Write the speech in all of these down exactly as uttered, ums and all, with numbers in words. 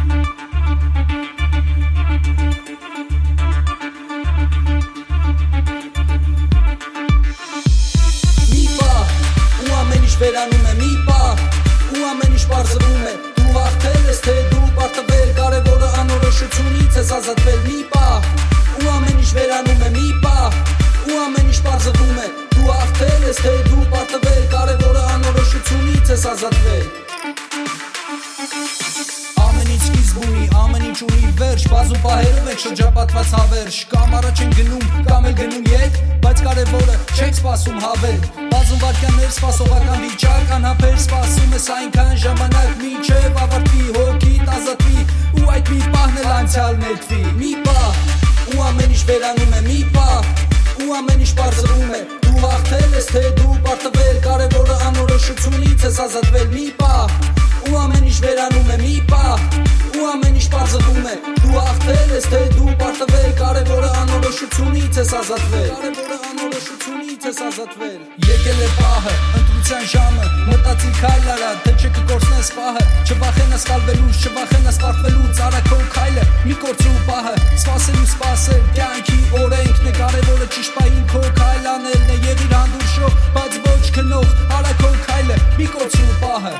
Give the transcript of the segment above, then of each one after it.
Վերանում է մի պահ ու ամեն ինչ պարզվում է Դու հաղթել ես թե դու պարտվել Կարևորը անորոշությունից ես ազատվել Մի պահ ու ամեն ինչ վերանում է մի պահ ու ամեն ինչ պարզվում է Դու հաղթել ես թե դու պարտվել Կարևորը անորոշությունից ես ազատվել Ամեն ինչ սկիզբ ունի, ամեն ինչ ունի վերջ Բազում պահերով եք շրջապատված հավերժ Կամ առաջ են գնում, կամ էլ գնում ետ Բայց կարևորը չեք սպասում հավել Բազում վարկյաններ սպասողական վիճակ Անհապեր սպասում ես այնքան ժամանակ Մինչև ավարտվի հոգիդ ազատվի Ու այդ մի պահն էլ անցյալ նետվի Մի պահ ու ամեն ինչ վերանում է մի պահ Ու ամեն ինչ պարզվում է Դու հաղթել ես թե դու պարտվել Կարևորը անորոշությունից ես ազատվել Մի պահ ու ամեն ինչ վերանում է մի պահ Ու ամեն ինչ պարզվում է Դու հաղթել ես թե դու պարտվել Կարևորը անորոշությունից ես ազատվել Կարևորը անորոշությունից ես ազատվել Եկել է պահը, ընտրության ժամը Մտածիր քայլ արա, թե չէ կկորցնես պահը Չվախենաս կալվելուց, չվախենաս պարտվելուց Արա քո քայլը, մի կորցրու պահը Սպասել ու սպասել, կյանքի օրենքն է Կարևորը ճիշտ պահին քո քայլ անելն է Եվ իր հանդուրժող, բայց ոչ քնող Արա քո քայլը, մի կորցրու պահը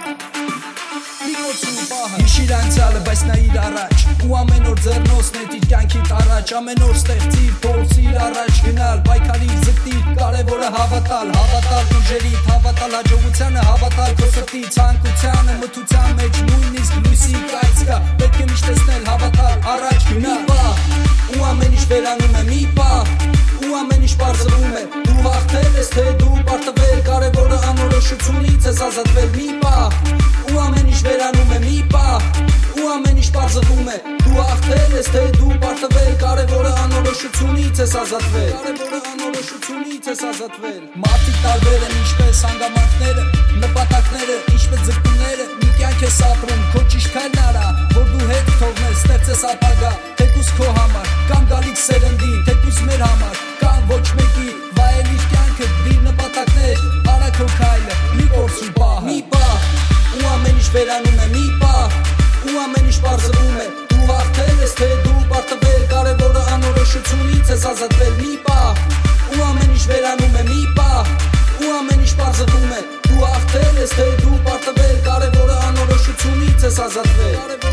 Հիշիր անցյալը, բայց նայիր առաջ Ու ամեն օր ձեռնոց նետիր կյանքիդ առաջ Ամեն օր ստեղծիր, փորձիր առաջ գնալ Պայքարիր, զգտիր, կարևորը հավատալ Հավատալ ուժերիդ, հավատալ հաջողությանը Հավատալ քո սրտի ցանկությանը Մթության մեջ նույնիսկ լույսի կայծ կա Պետք է միշտ տեսնել, հավատալ, առաջ գնալ Մի պահ, ու ամեն ինչ վերանում է մի պահ Ու ամեն ինչ պարզվում է Դու հաղթել ես թե դու պարտվել Կարևորը անորոշությունից ես ազատվել Մի պահ ու ամեն ինչ վերանում է մի պահ Ու ամեն ինչ պարզվում է Դու հաղթել ես թե դու պարտվել Կարևորը անորոշությունից ես ազատվել Կարևորը անորոշությունից ես ազատվել Մարդիկ տարբեր են ինչպես հանգամանքները Նպատակները, ինչպես ձգտումները Մի կյանք ես ապրում, քո ճիշտ քայլն արա Որ դու հետ թողնես, ստեղծես ապագա Թեկուզ քո համար, կամ գալիք սերնդի Թեկուզ մեր համար, կամ ոչ մեկի Վայելիր կյանքը, դիր նպատակներ Արա քո քայլը, մի կորցրու պահը Մի պահ ու ամեն ինչ վերանում է մի պահ Ու ամեն ինչ պարզվում է Դու հաղթել ես թե դու պարտվել Կարևորը անորոշությունից ես ազատվել Մի պահ ու ամեն ինչ վերանում է մի պահ Ու ամեն ինչ պարզվում է Դու հաղթել ես թե դու պարտվել Կարևորը անորոշությունից ես ազատվել